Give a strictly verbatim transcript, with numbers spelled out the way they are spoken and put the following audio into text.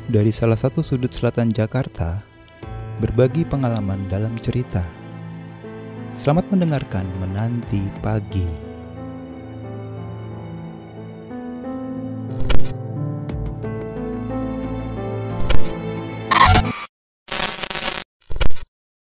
dari salah satu sudut selatan Jakarta, berbagi pengalaman dalam cerita. Selamat mendengarkan Menanti Pagi.